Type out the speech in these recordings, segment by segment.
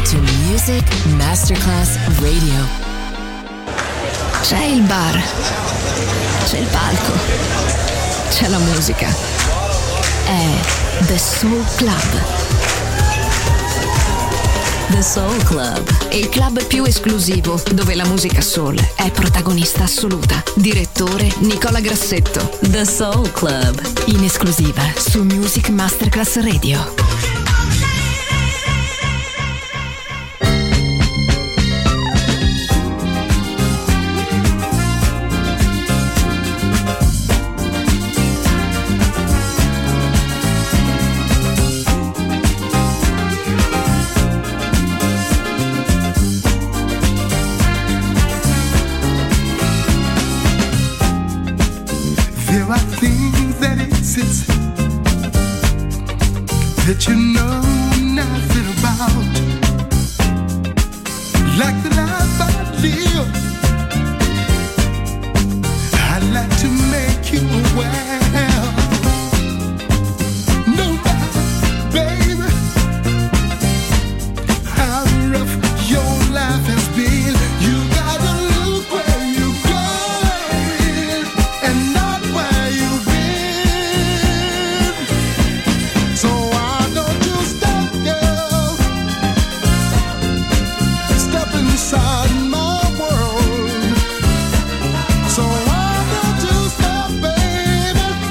to Music Masterclass Radio. C'è il bar, c'è il palco, c'è la musica. È The Soul Club. The Soul Club, Il club più esclusivo dove la musica soul è protagonista assoluta. Direttore Nicola Grassetto. The Soul Club, In esclusiva su Music Masterclass Radio. There are things that exist that you know nothing about, like the life I live. I'd like to make you aware. No matter, baby, how rough your life has been, you gotta look where you're going and not where you've been. So why don't you stop, girl? Step inside my world. So why don't you stop, baby?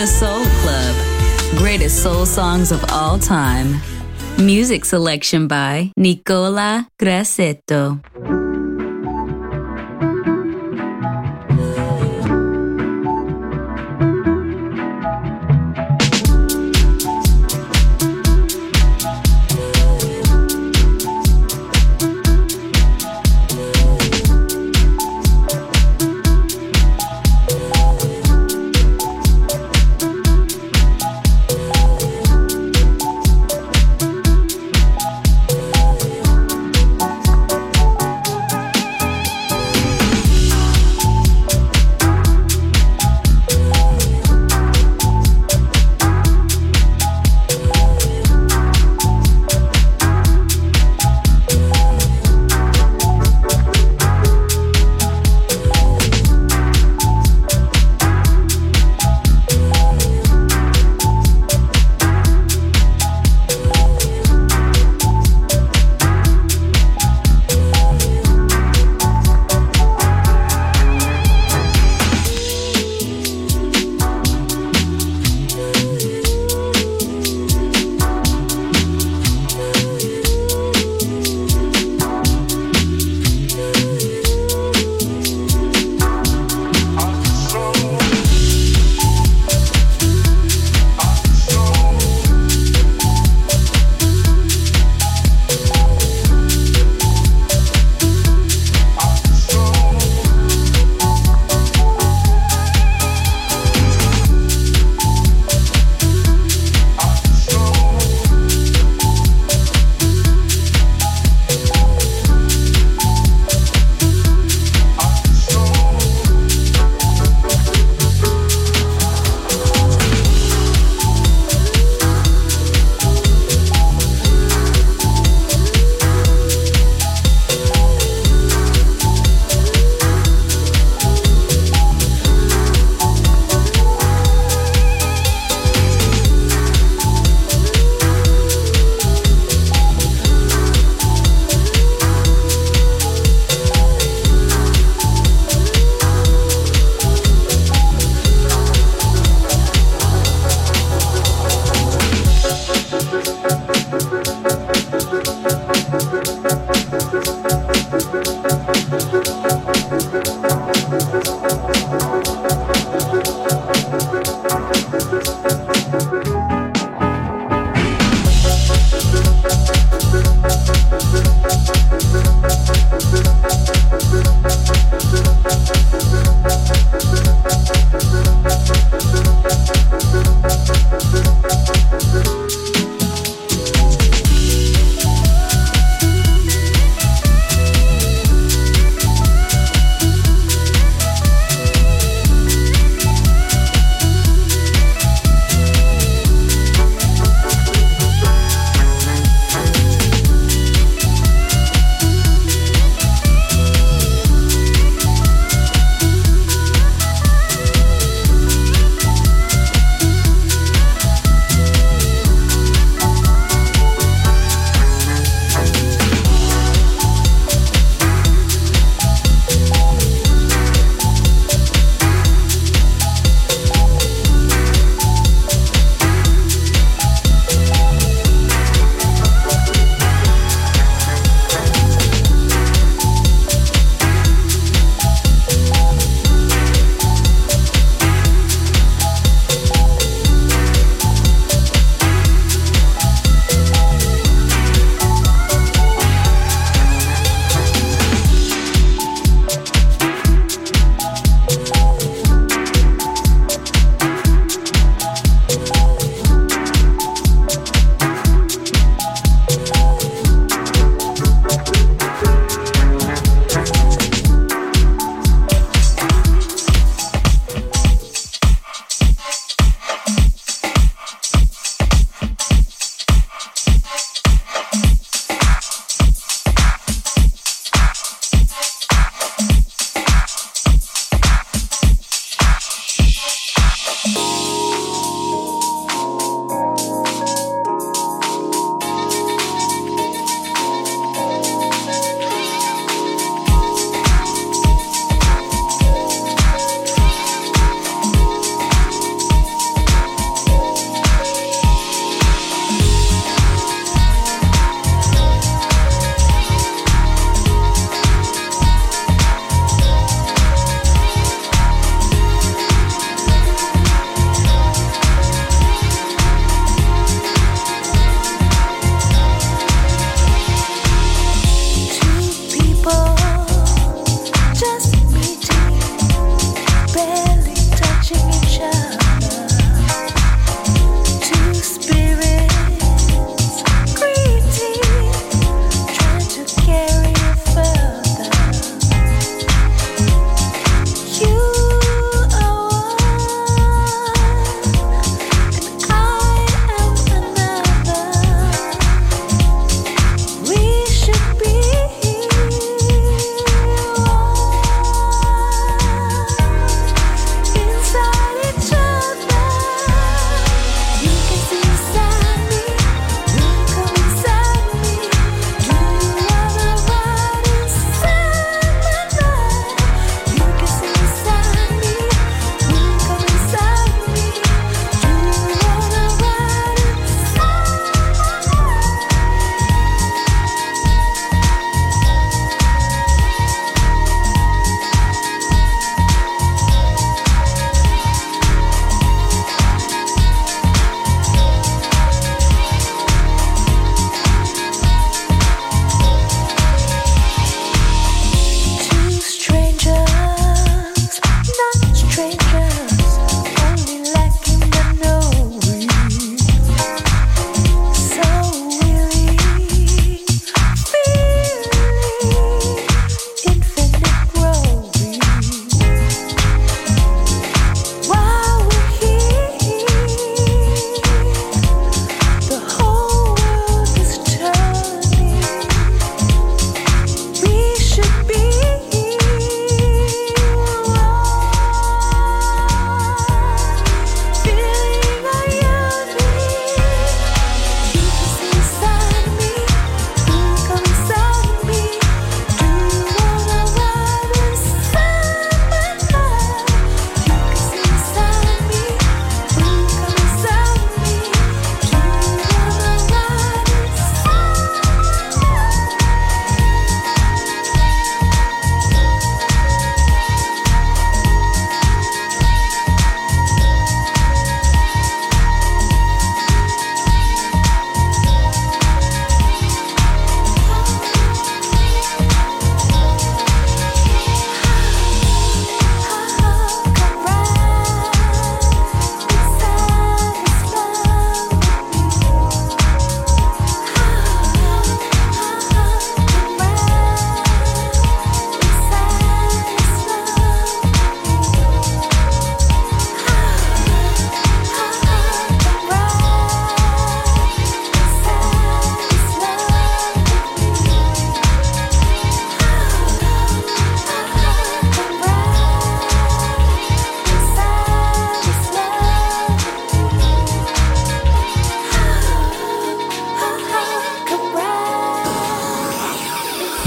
The Soul Club. Greatest soul songs of all time. Music selection by Nicola Grassetto.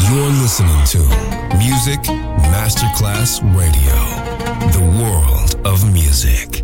You're listening to Music Masterclass Radio, the world of music.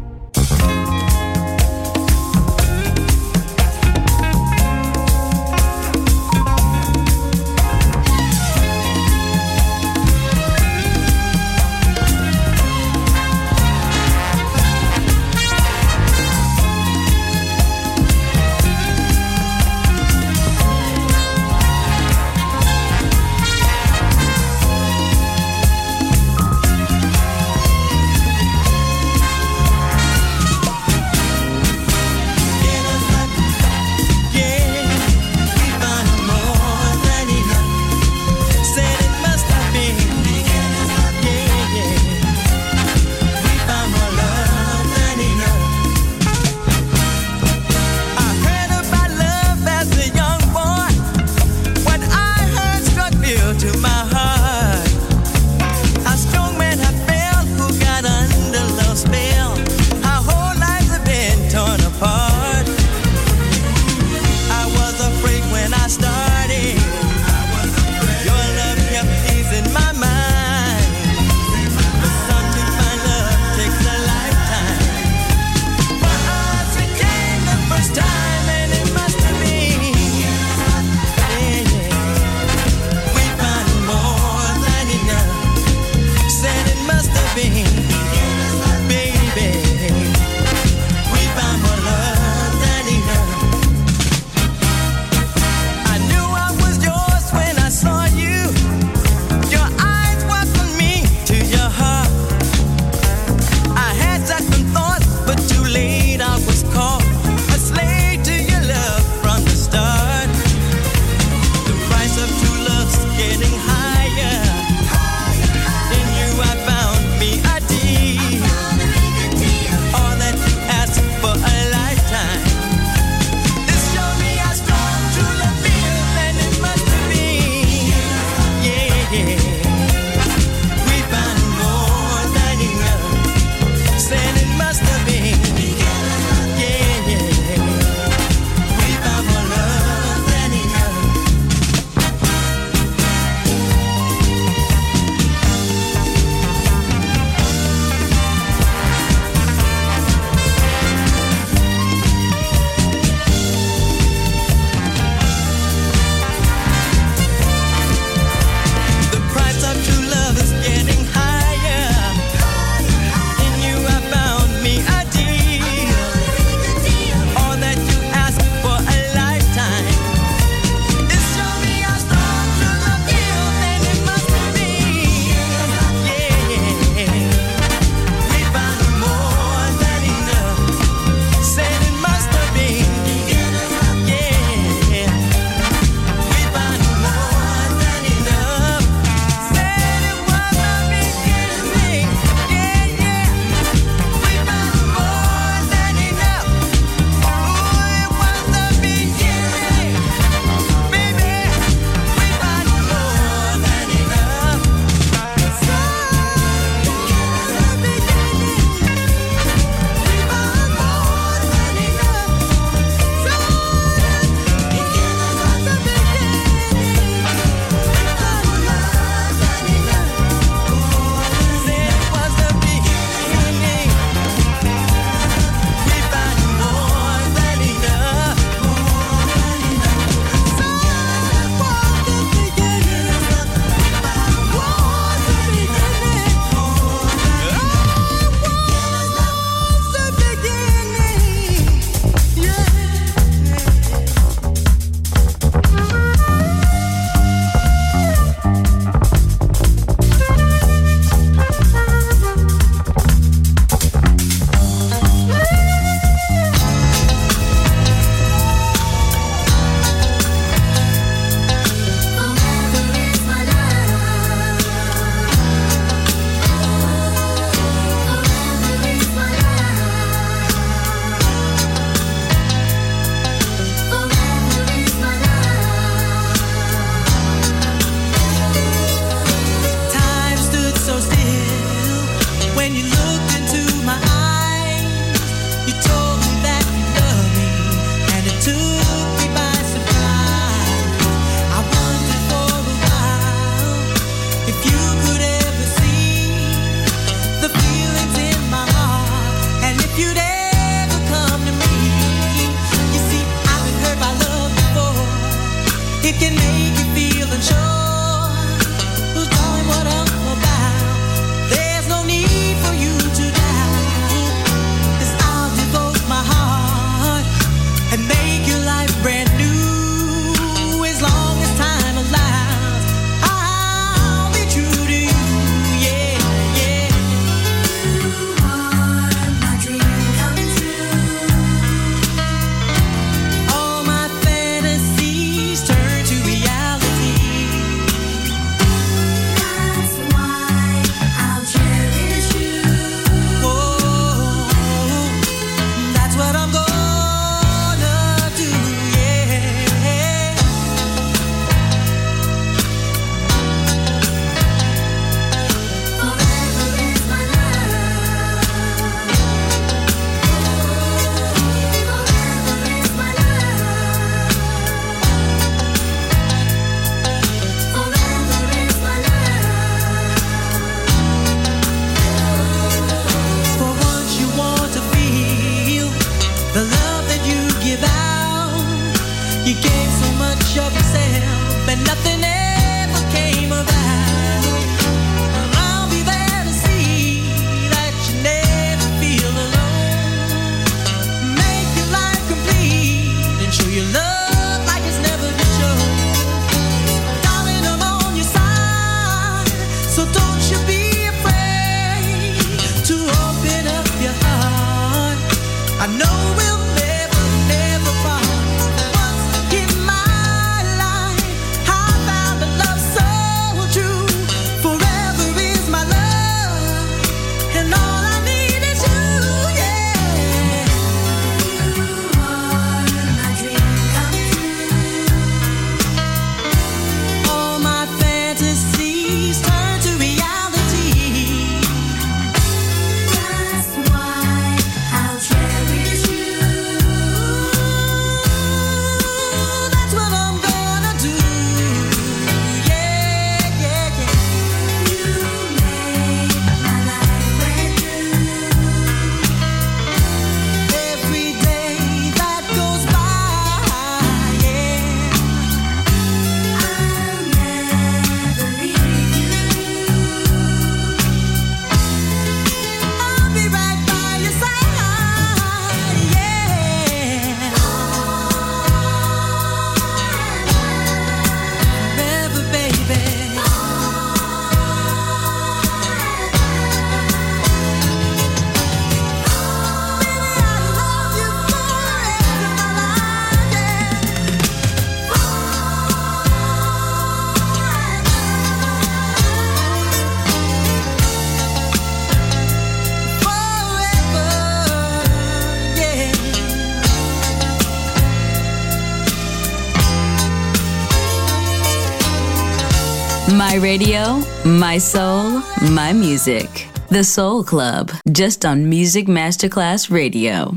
My radio, my soul, my music. The Soul Club, just on Music Masterclass Radio.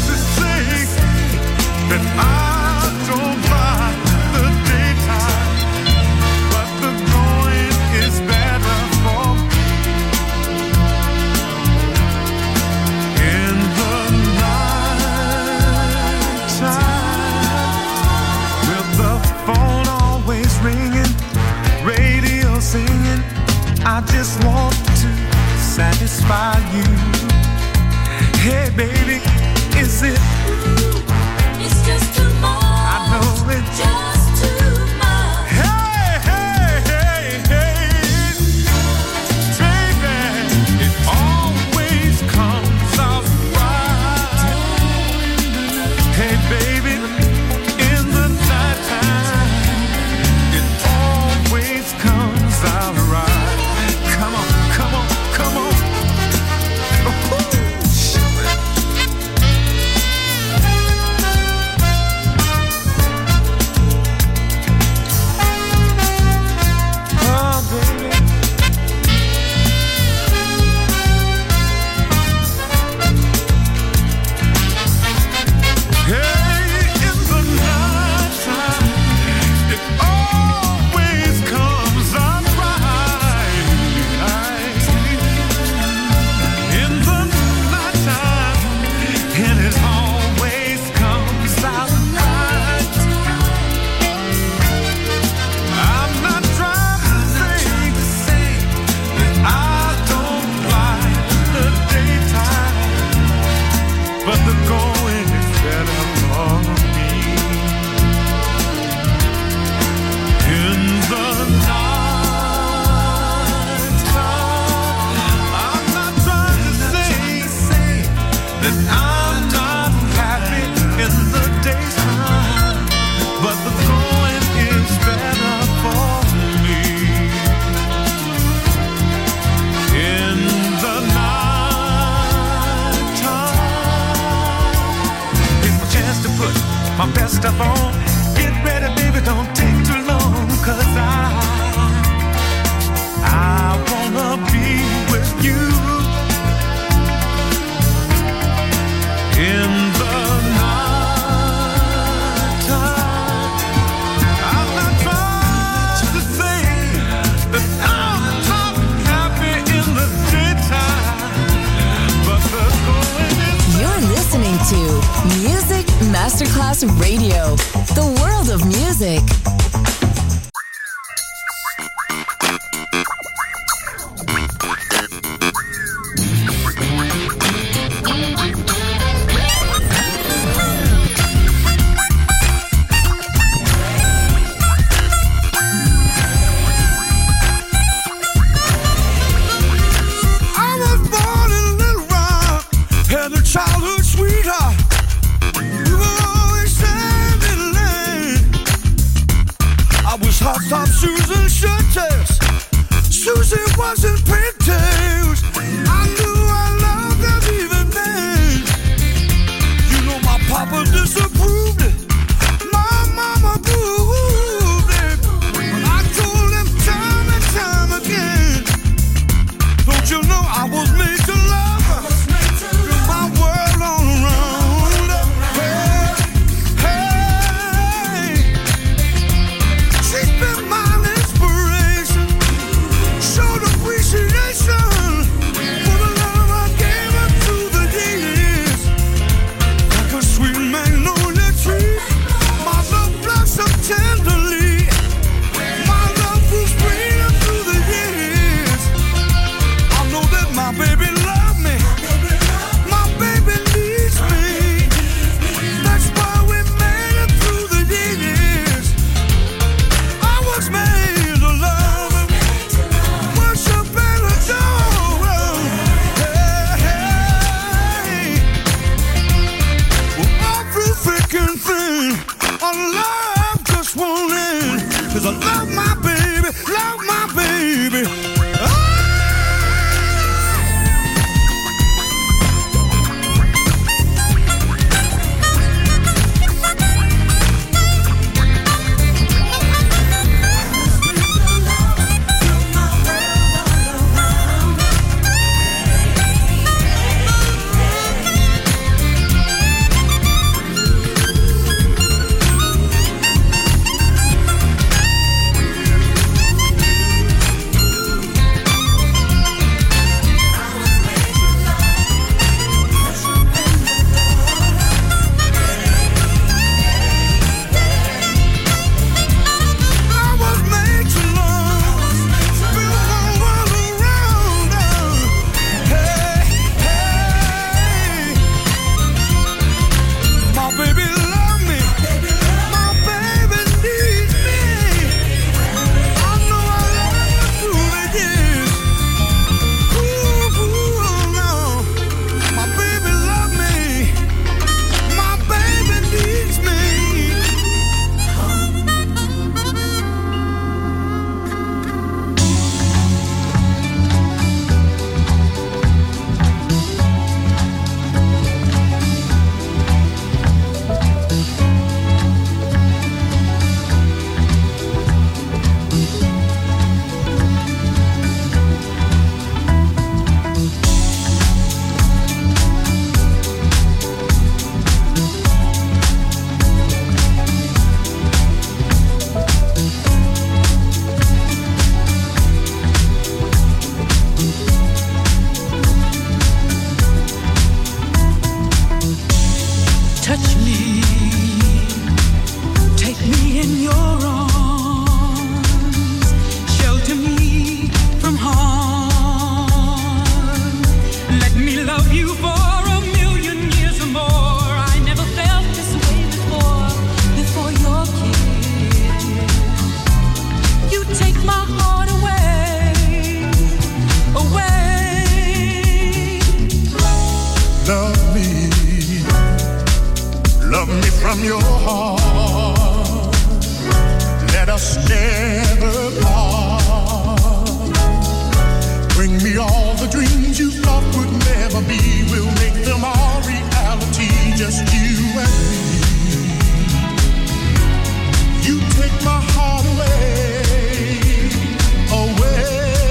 I don't mind the daytime. but the going is better for me. In the night time, I'm not trying to say that I'm not happy in the daytime, but the going is better for me. In the night time, it's my chance to put my best stuff on. Get ready, baby, don't take too long, 'cause I wanna be with you. In the night time, I'm not trying to say that I'm not happy in the daytime, but the going is. You're listening to Music Masterclass Radio, the world of music. I was born in Little Rock, had a childhood sweetheart. We were always standing in line. I was hot top shoes and shirt tests. Susie wasn't pigtails. I knew I loved her even then. You know my papa disapproved it. My mama proved it. But I told him time and time again. Don't you know I was made to love her? You're my world all around. Hey, hey. She's been my inspiration. Showed appreciation for the love I gave her through the years. Like a sweet magnolia tree, my love blossomed tenderly. My love was greener through the years. I know that my baby loves me. My baby needs me. That's why we made it through the years. I was made to love him, worship and adore him. Hey, hey. Well, all through thick and thin, our love just won't end. 'Cause I love my baby, love my baby. Ah! Love me from your heart. Let us never part. Bring me all the dreams you thought would never be. We'll make them all reality, just you and me. You take my heart away, away.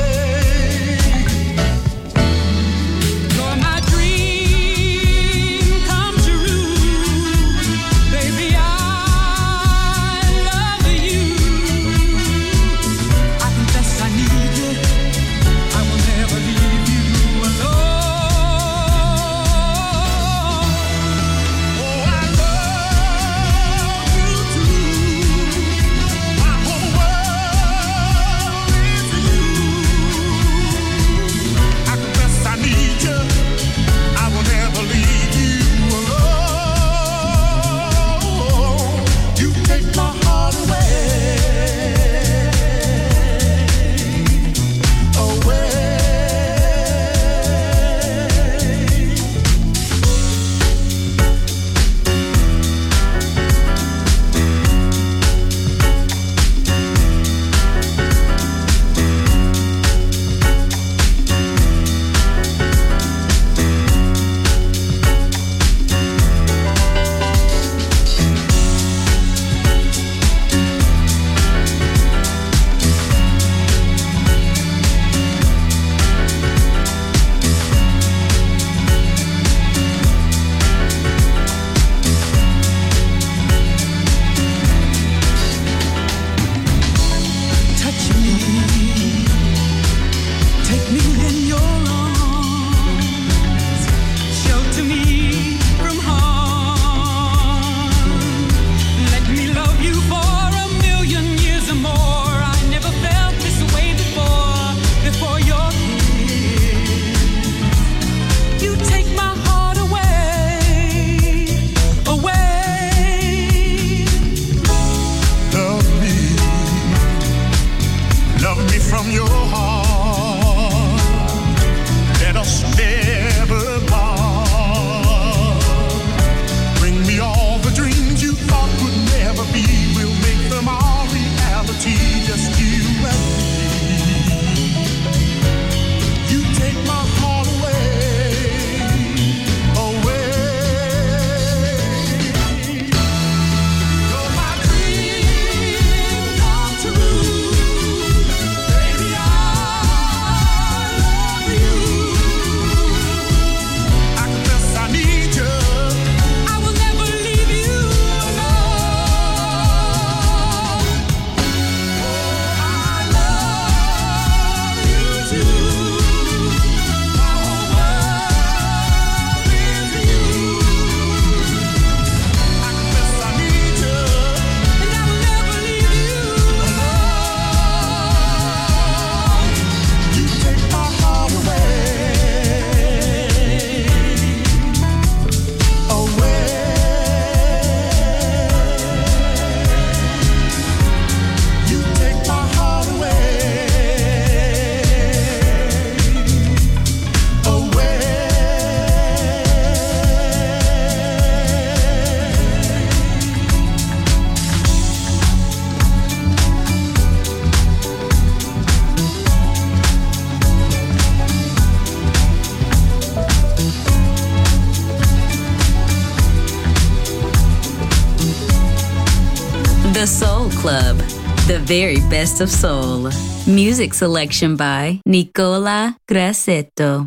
The Soul Club, the very best of soul. Music selection by Nicola Grassetto.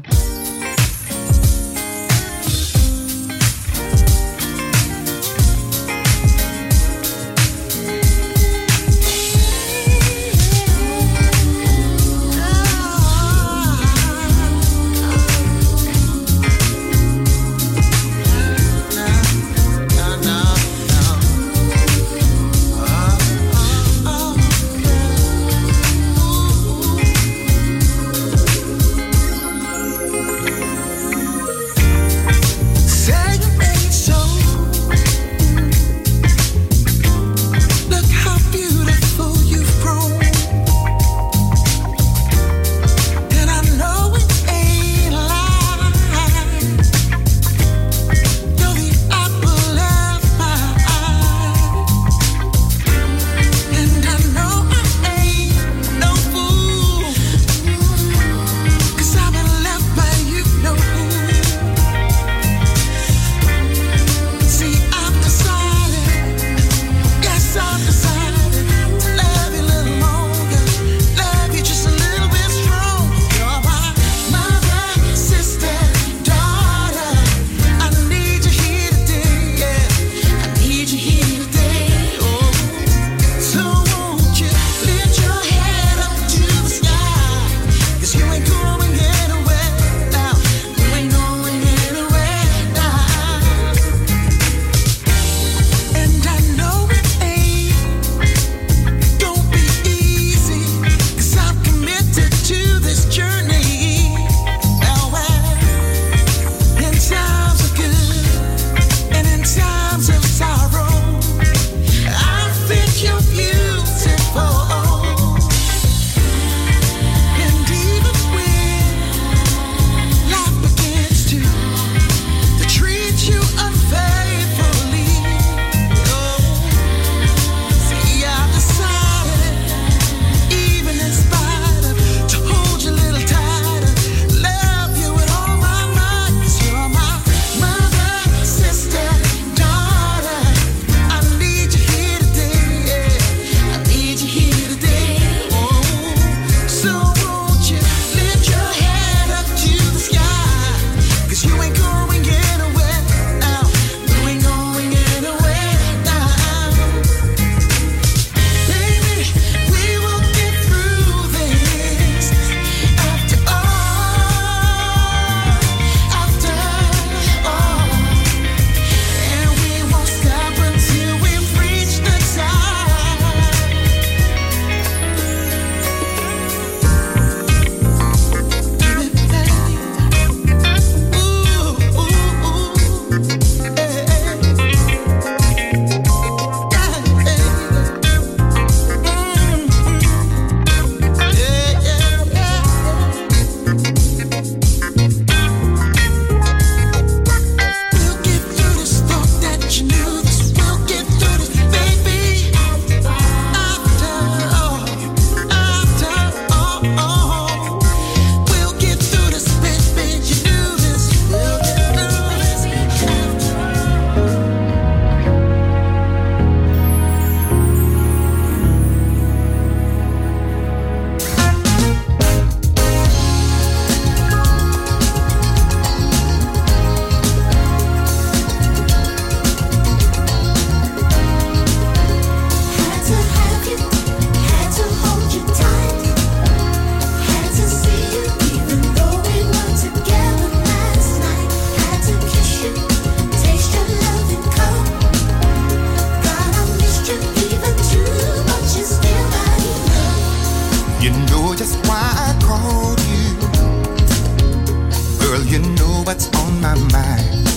my mind.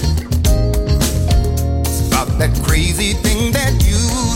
It's about that crazy thing that you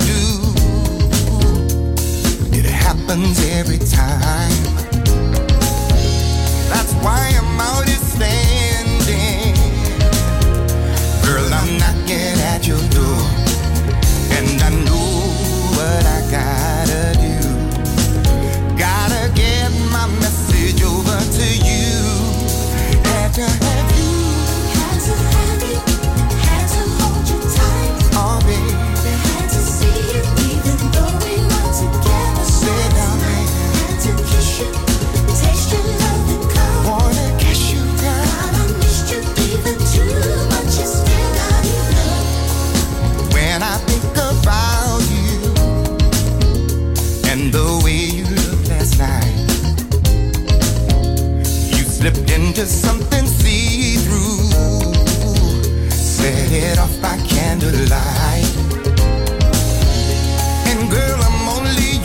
do. It happens every time. That's why I'm out here standing. Girl, I'm knocking at your door, and I know what I gotta do. Gotta get my message over to you. Had to have you, had to have you, had to hold you tight. Oh baby, had to see you even though we weren't together. Sit down, man. Had to kiss you, taste your love and come. Wanna kiss you, girl. God, I missed you even too much. It's still not enough. When I think about you and the way you looked last night, you slipped into something see-through, set it off by candlelight. And girl, I'm only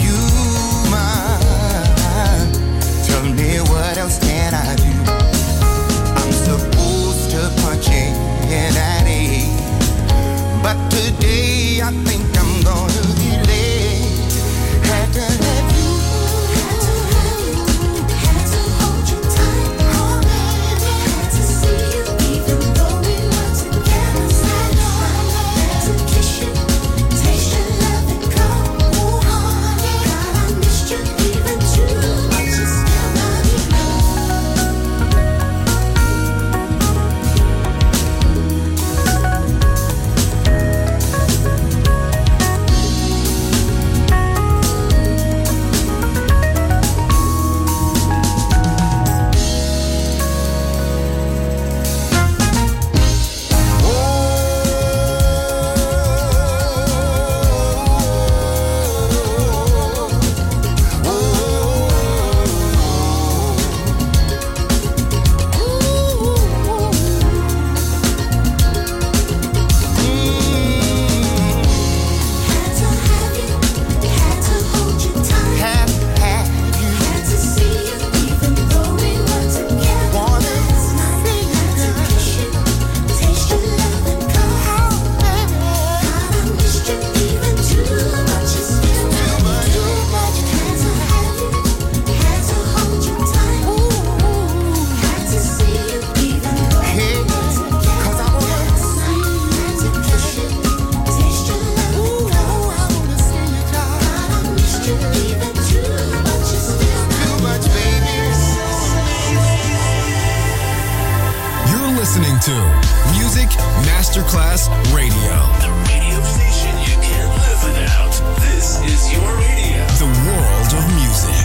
human. Tell me what else can I do? I'm supposed to punch in at 8, but today I think I'm gonna be late. Had to have you, had to have you, had to hold you tight. Oh baby, had to see you even though we weren't together. Had to kiss you, taste your love and come. Oh honey, God, I missed you even too much. It's still not enough. Had to have you, had to hold you tight. Had you, had to see you even though we weren't together. Wanna see you, had to kiss you, taste your love and come. God, I missed you even too much. It's still not too much. Had to have you, had to hold you tight. Had to see you even though we weren't together. 'Cause I wanna see you, had to kiss you, taste your love and come. I wanna see you, God, I missed you even too much. It's still too much, baby. You're listening to Music Masterclass Radio. The radio station you can't live without. This is your radio. The world of music.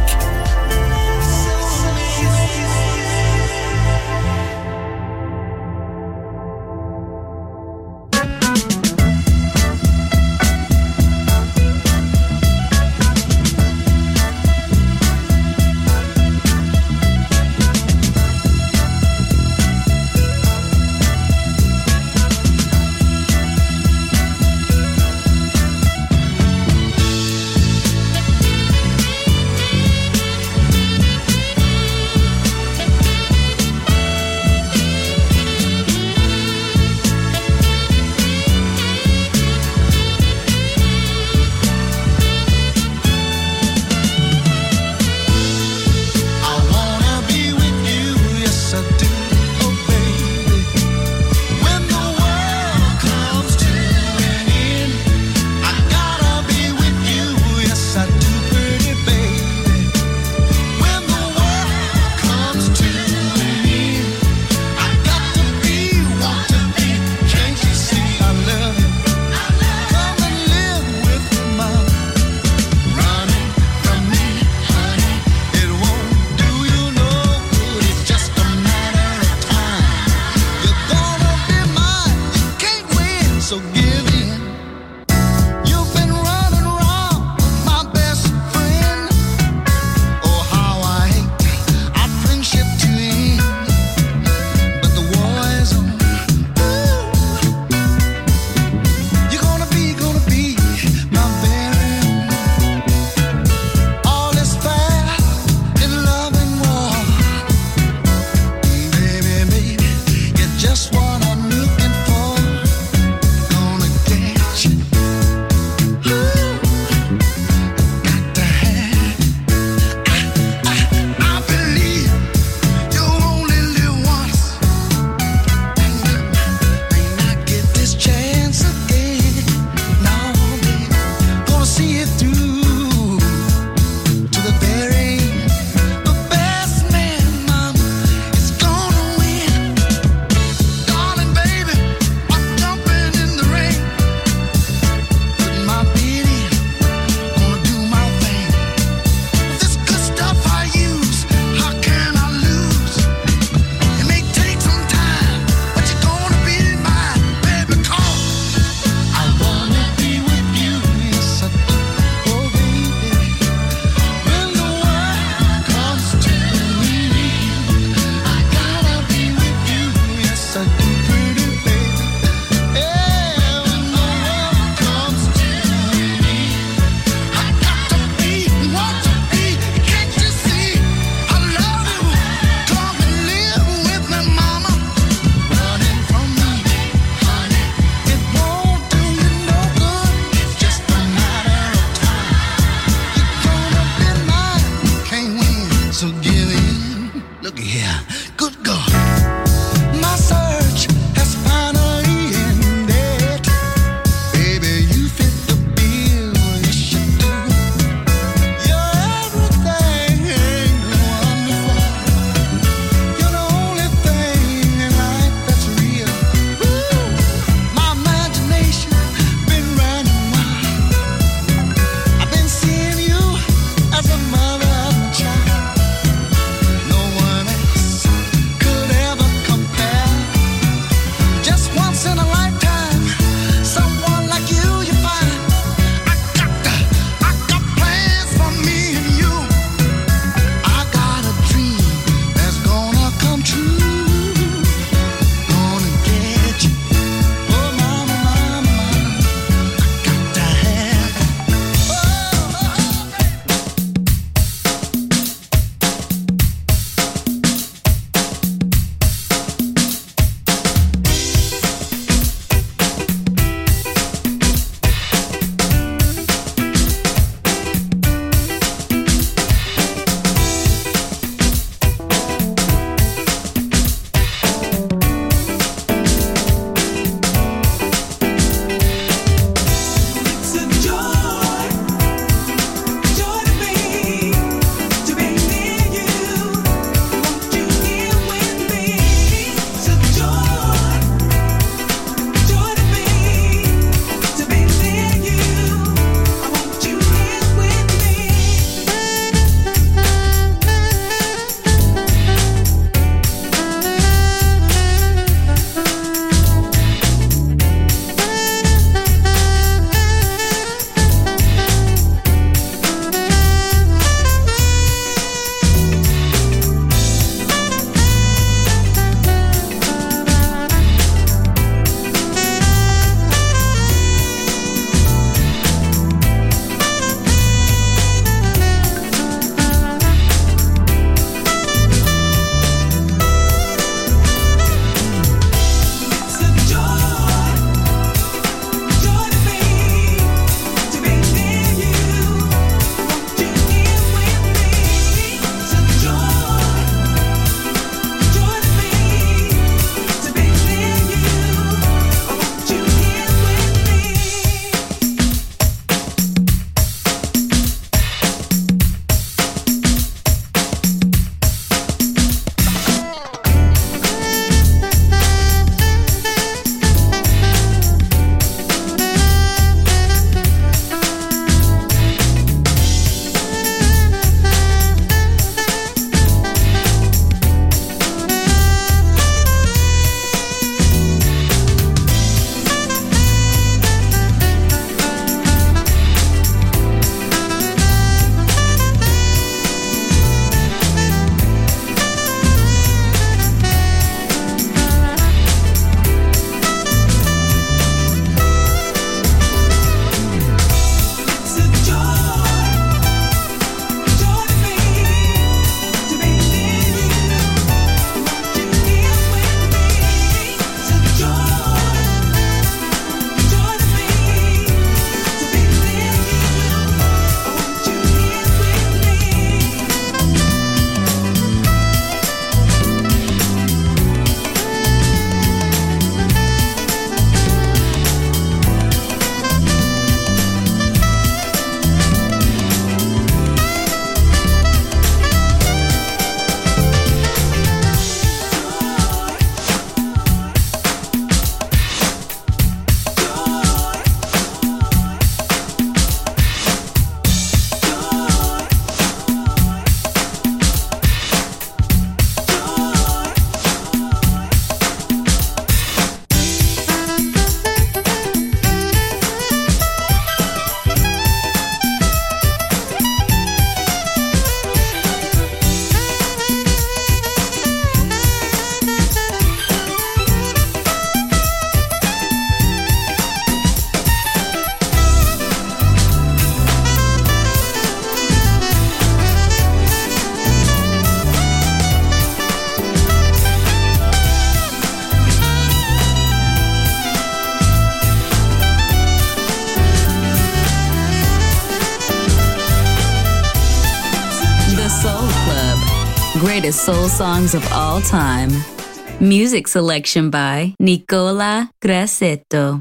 greatest soul songs of all time. Music selection by Nicola Grassetto.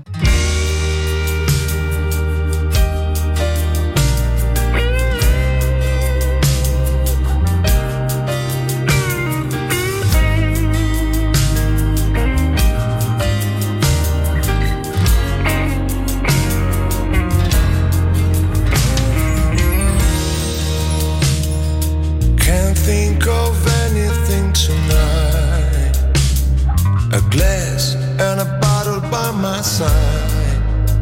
Think of anything tonight. A glass and a bottle by my side.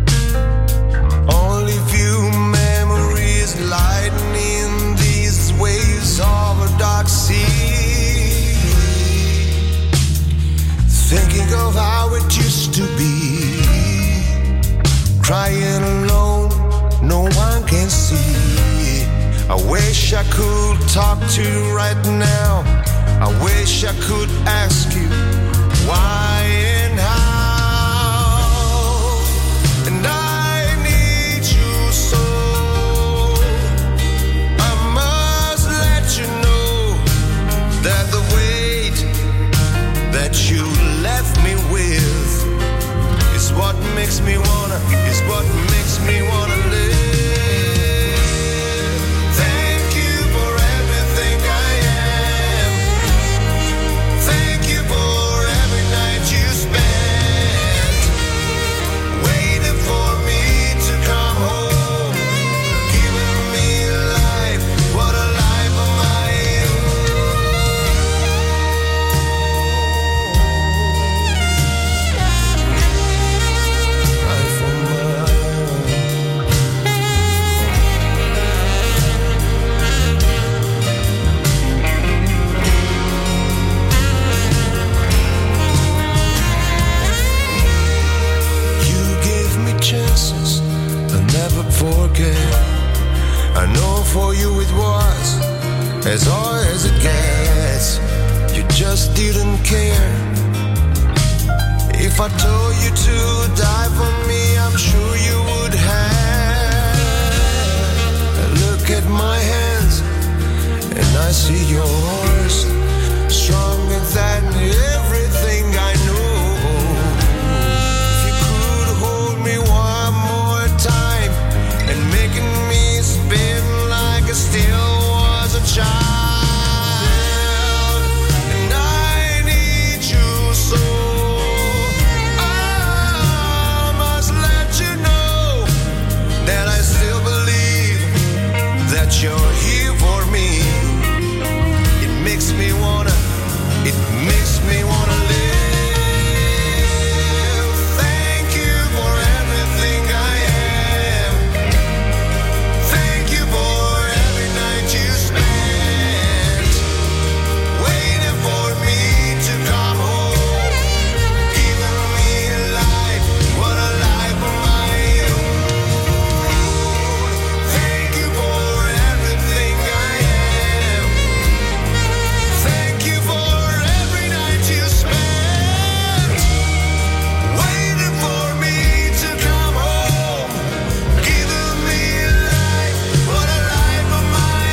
Only few memories lightening these waves of a dark sea. Thinking of how it used to be. Crying alone, no one can see. I wish I could talk to you right now. I wish I could ask you why and how. And I need you so. I must let you know that the weight that you left me with is what makes me wanna, live. I know for you it was as hard as it gets. You just didn't care. If I told you to die for me, I'm sure you would have. Look at my hands and I see yours, stronger than everything I know. If you could hold me one more time and making me spin like I still was a child. And I need you so. I must let you know that I still believe that you're here for me. It makes me wanna live. Thank you for everything I am. Thank you for every night you spent waiting for me to come home, giving me a life, what a life of my own. Thank you for everything I am. Thank you for every night you spent waiting for me to come home, giving me a life, what a life of my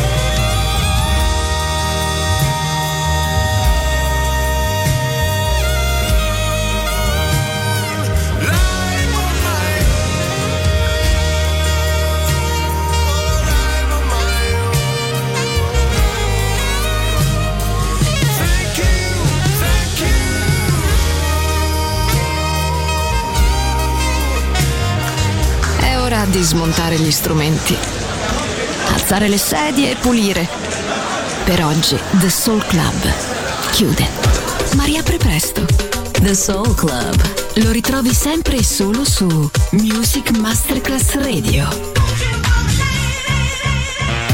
own. Life of my own, life of my own. Thank you, thank you. È ora di smontare gli strumenti, alzare le sedie e pulire. Per oggi The Soul Club chiude, ma riapre presto. The Soul Club. Lo ritrovi sempre e solo su Music Masterclass Radio.